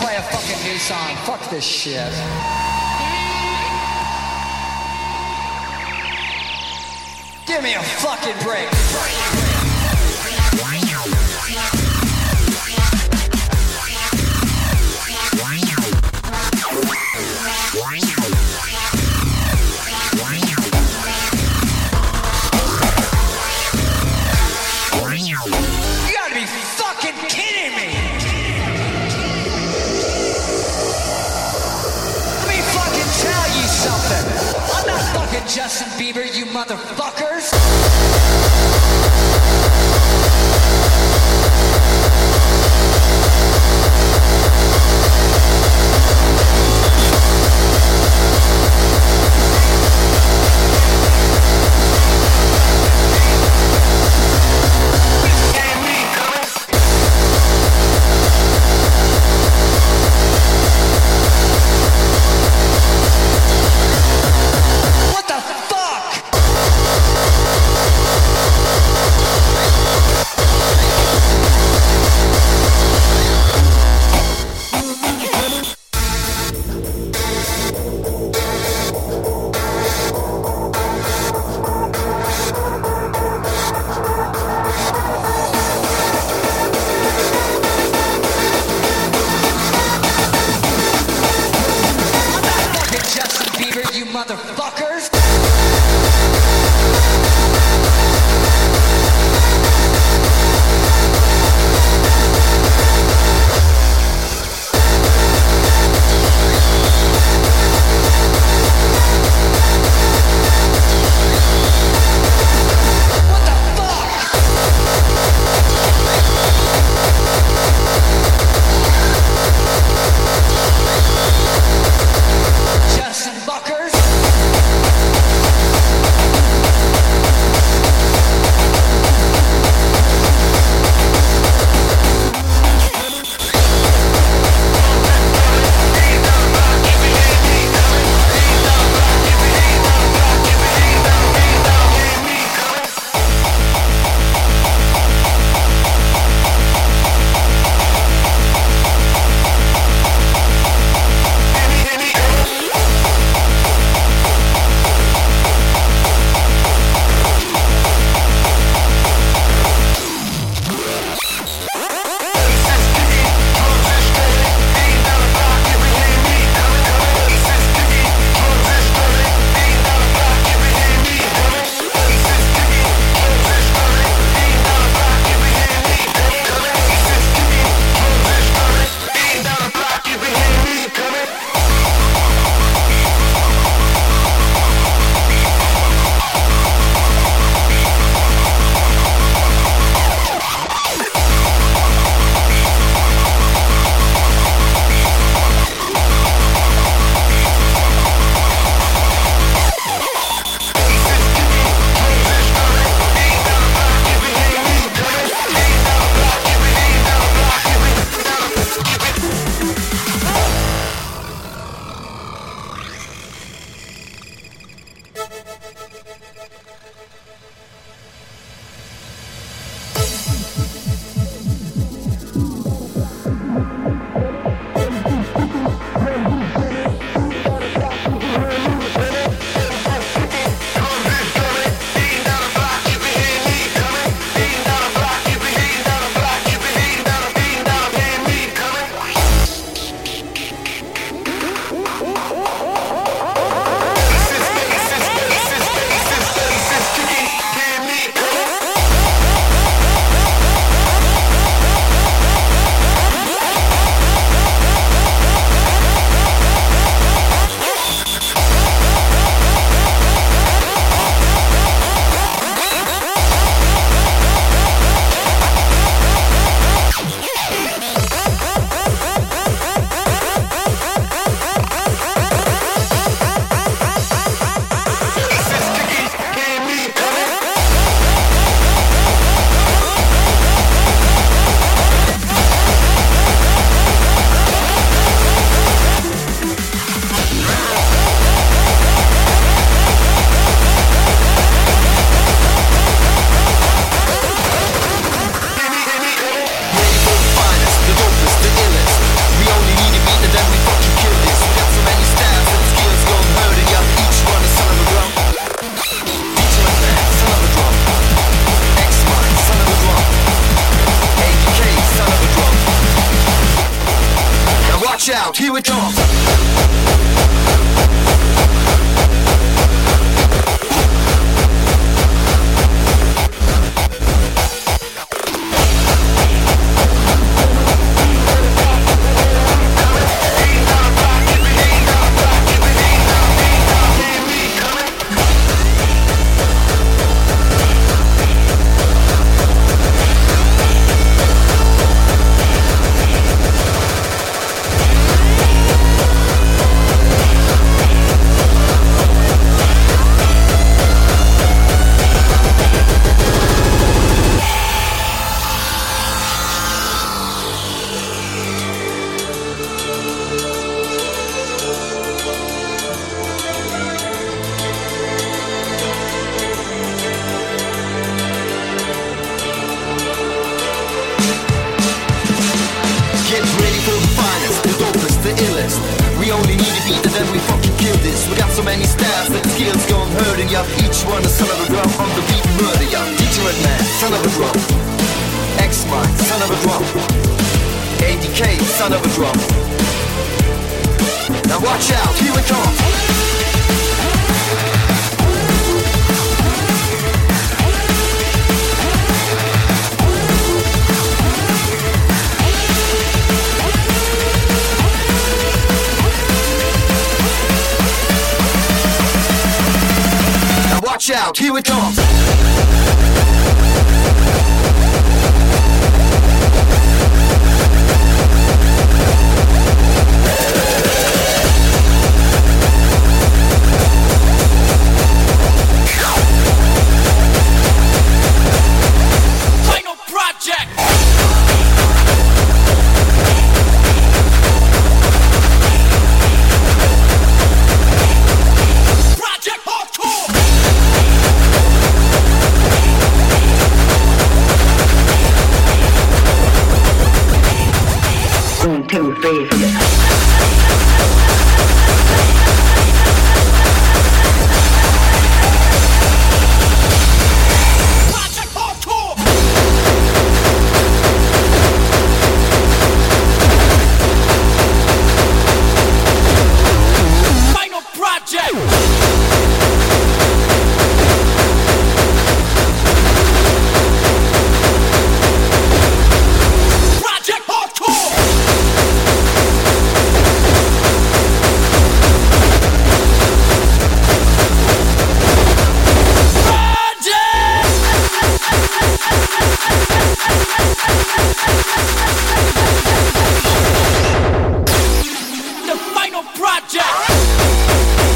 play a fucking new song. Fuck this shit. Give me a fucking break. You gotta be fucking kidding me. Let me fucking tell you something. I'm not fucking Justin Bieber, you motherfuckers. Motherfuckers! Justin Buckers. watch out, here it comes. We only need a beat and then we fucking kill this. We got so many styles that the skills gone hurting ya. Each one a son of a drum on the beat murder ya. DJ Redman, son of a drum. X-Mine, son of a drum. ADK, son of a drum. Now watch out, here it comes. Watch out, here it comes. Final project. Project Hardcore. 1, 2, 3, 4. Project Hardcore. Final project. Project Hardcore. The final project.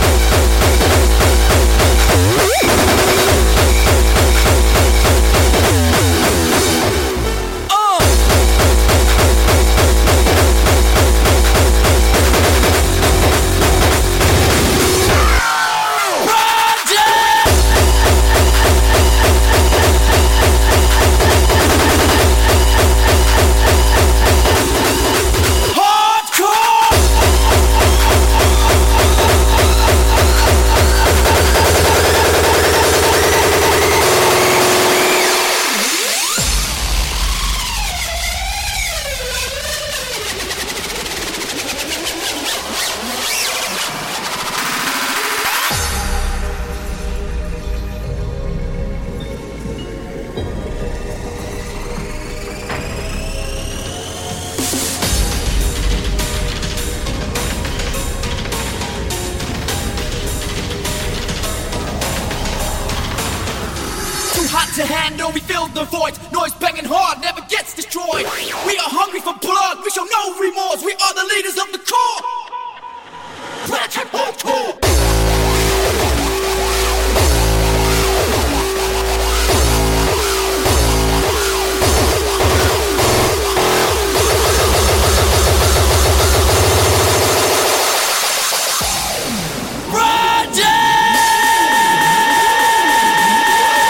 Hot to handle, we fill the void. Noise banging hard, never gets destroyed. We are hungry for blood, we show no remorse. We are the leaders of the core. Project Hardcore.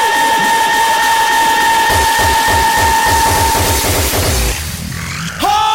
Hardcore.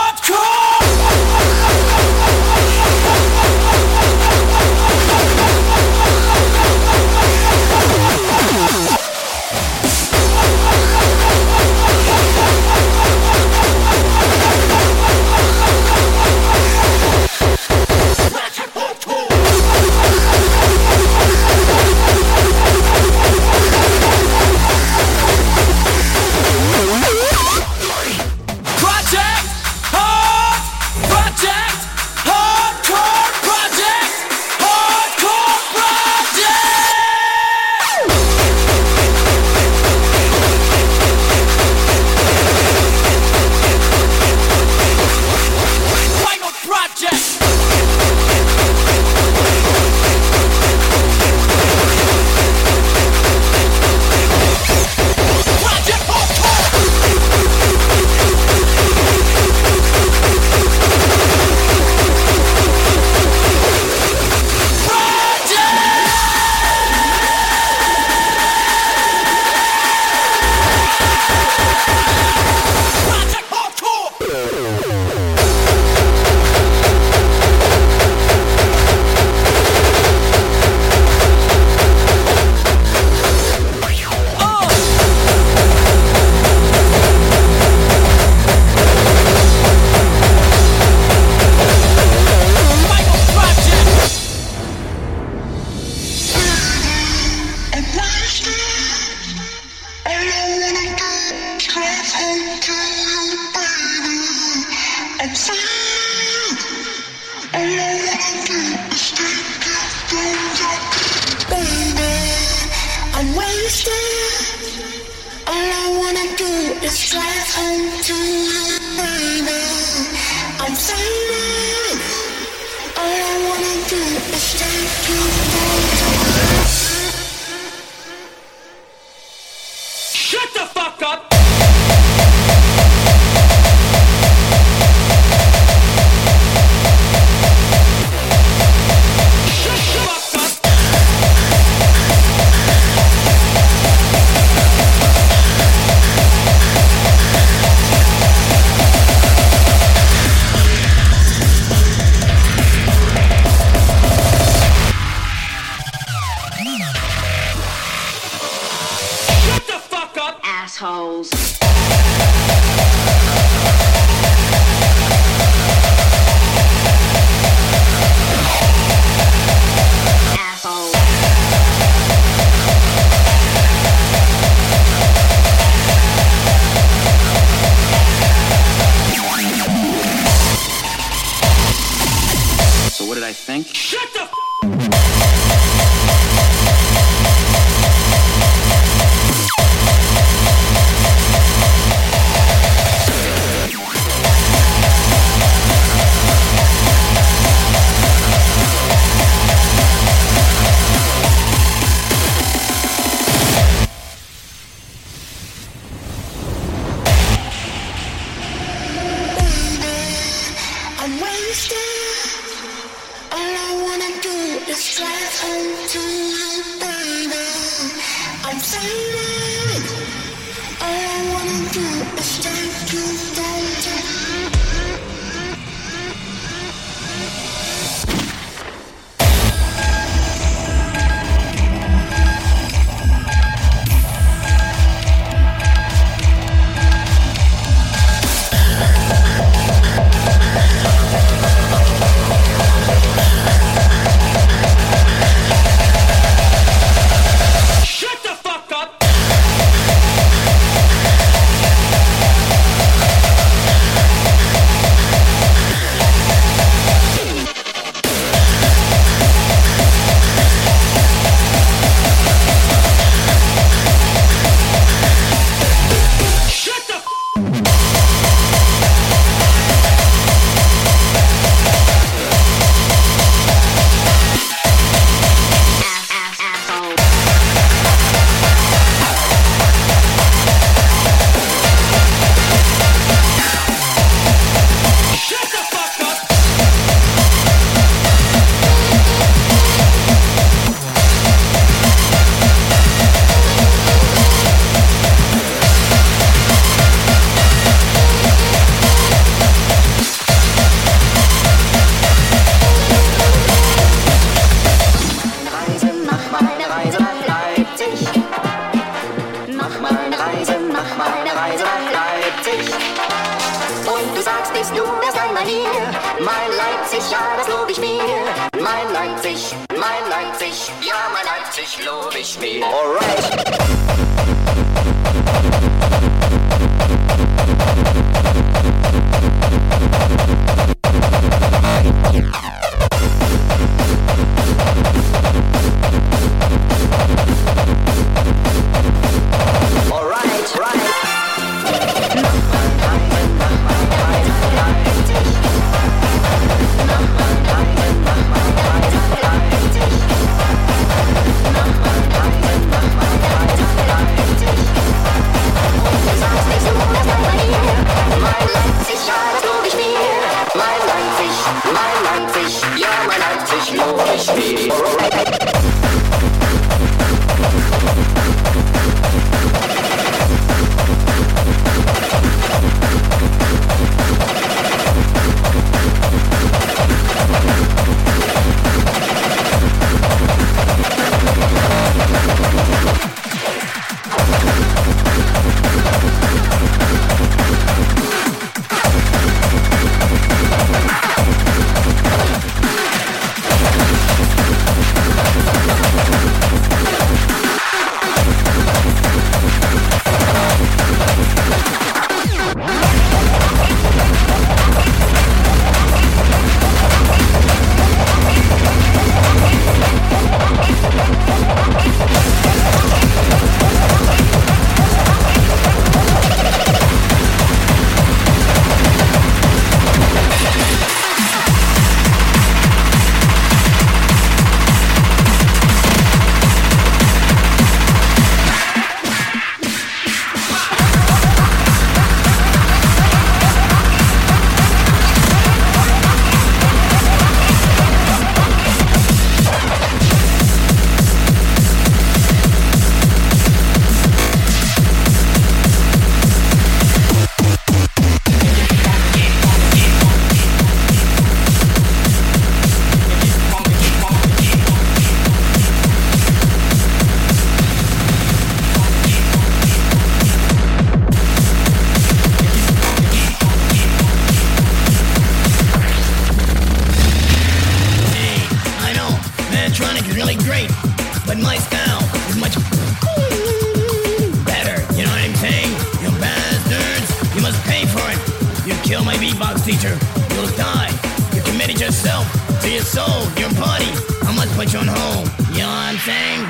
really great, but my style is much better. You know what I'm saying? You bastards, you must pay for it. You kill my beatbox teacher, you'll die. You committed yourself to your soul, your body. I must put you on hold. You know what I'm saying?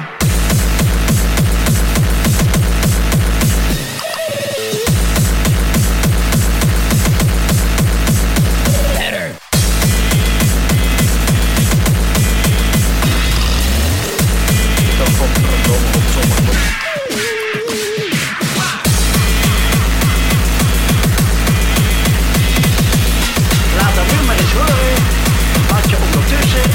Laat dat nu maar eens horen, wat je ondertussen...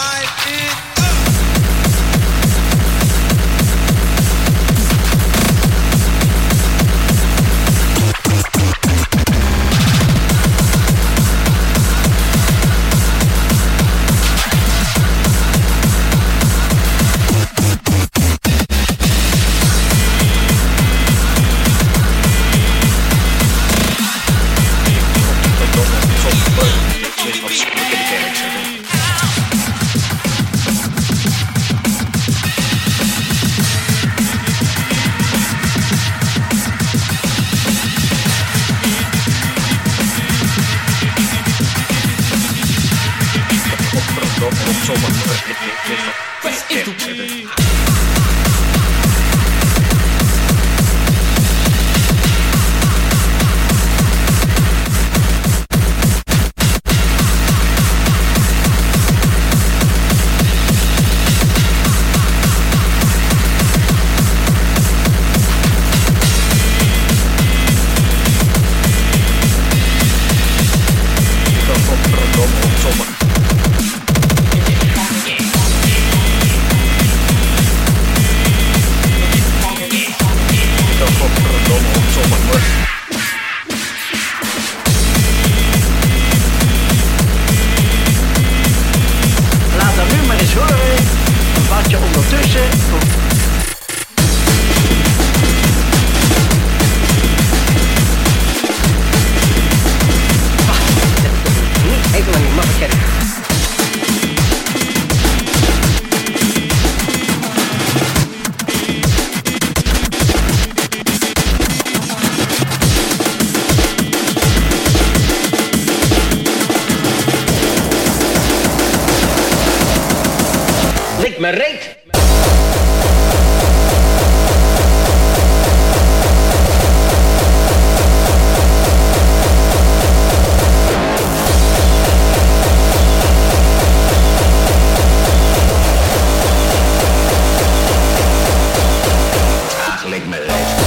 me reet. Ach, lik me reet.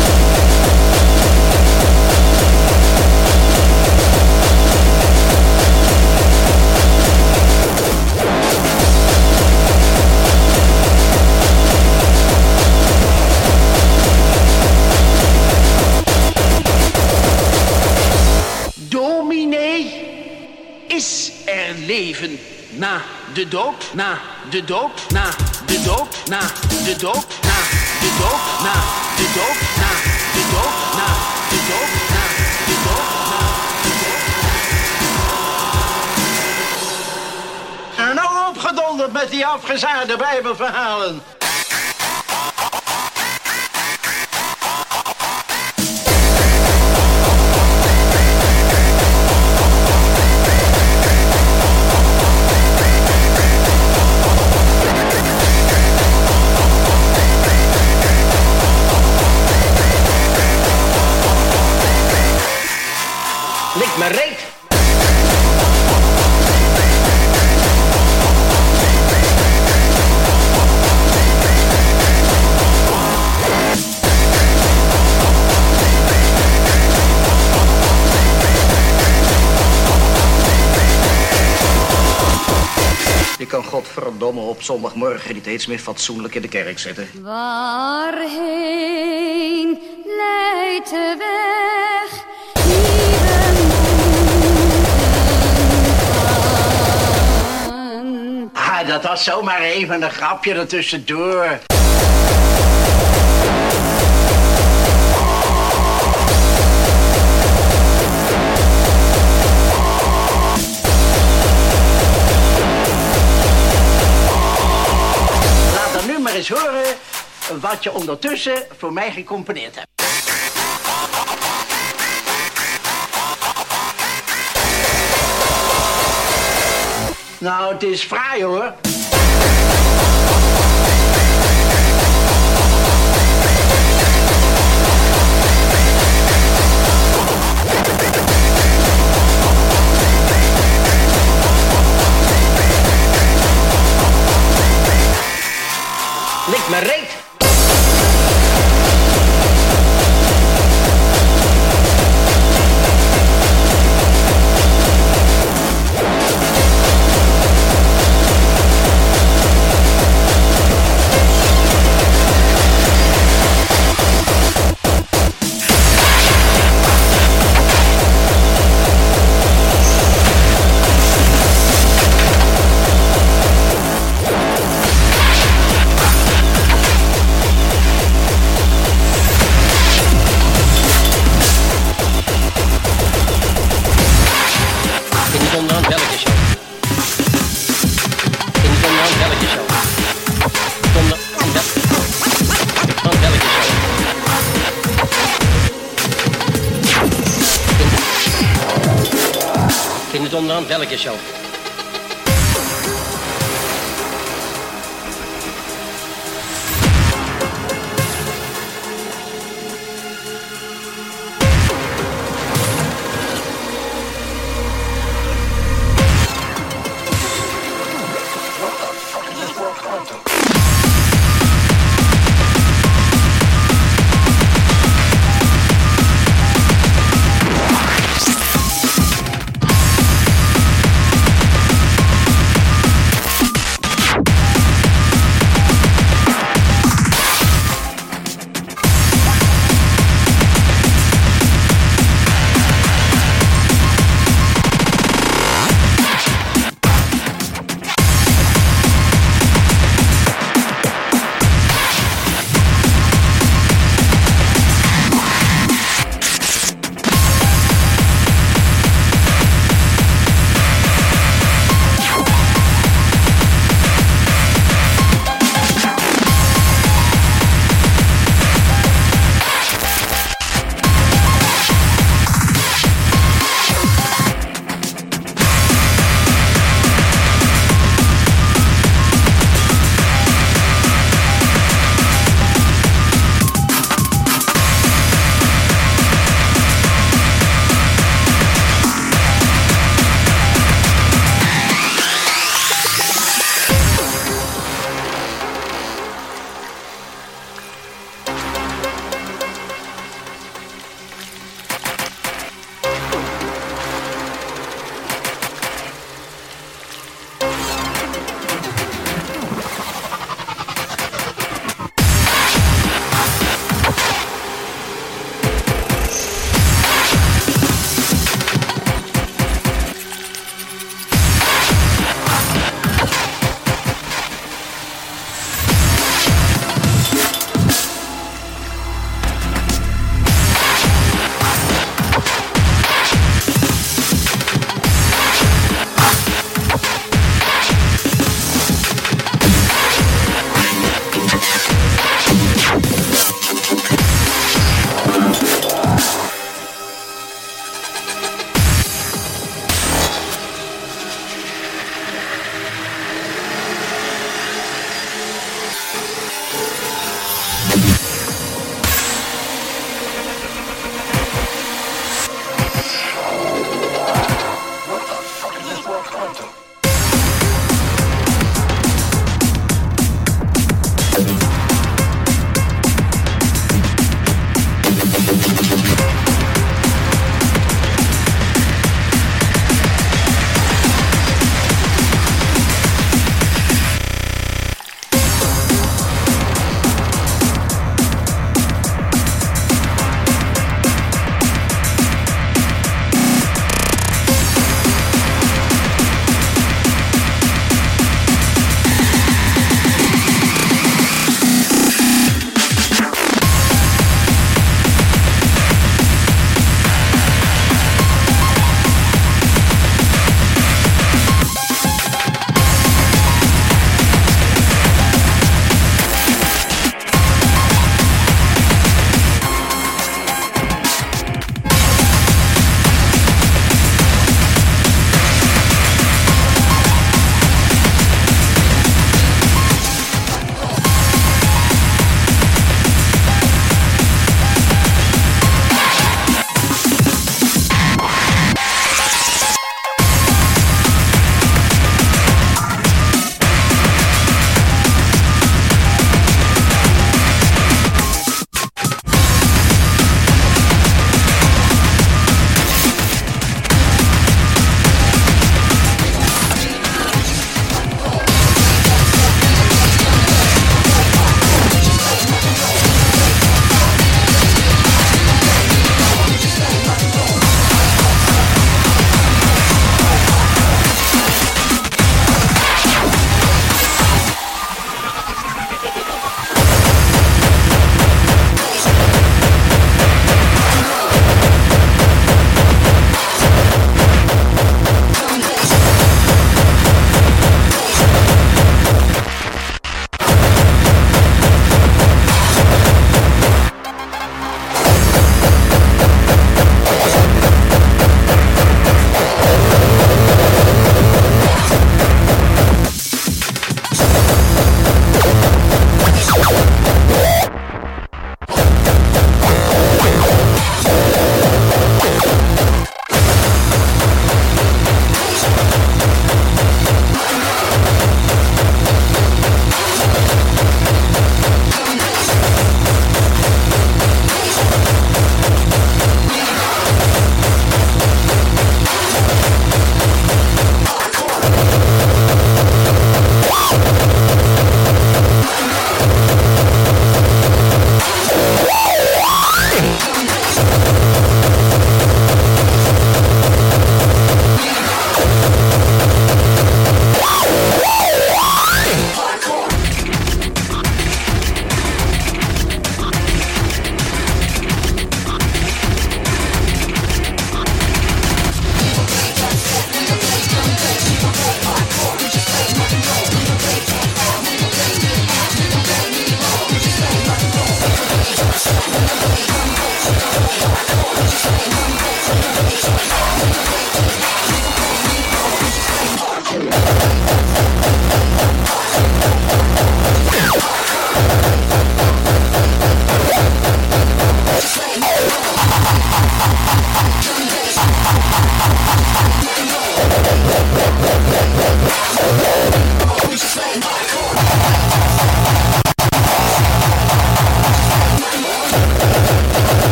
Leven na de dood, na de dood, na de dood, na de dood, na de dood, na de dood, na de dood, na de dood, na de dood, na de dood. En nou opgedonderd met die afgezaagde bijbelverhalen. Lik me reet. Je kan godverdomme op zondagmorgen niet eens meer fatsoenlijk in de kerk zitten. Waarheen leidt de weg? Ah, dat was zomaar even een grapje ertussendoor. wat je ondertussen voor mij gecomponeerd hebt. Nou, het is fraai hoor. Lik me reet. Onderaan welke show?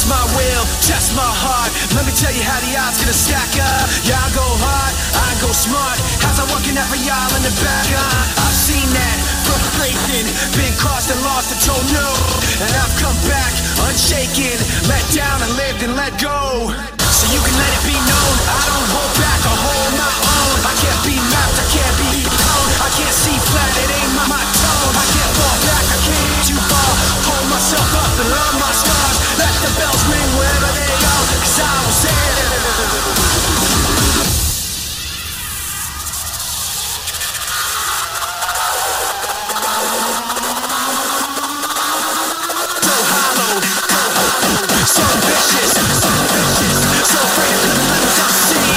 Test my will, test my heart. Let me tell you how the odds gonna stack up. Yeah, I go hard, I go smart. How's I working out for y'all in the back? I've seen that frustration, been crossed and lost and told no. And I've come back unshaken, let down and lived and let go. So you can let it be known, I don't hold back, I hold my own. I can't be mapped, I can't be owned. I can't see flat, it ain't my tone. I can't fall back, I can't get too far. Hold myself up and love my scars. Let the bells ring wherever they are, 'cause I was there. So hollow, so vicious, so afraid of the limits I see.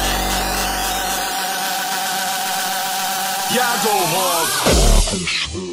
Yeah, I go hard.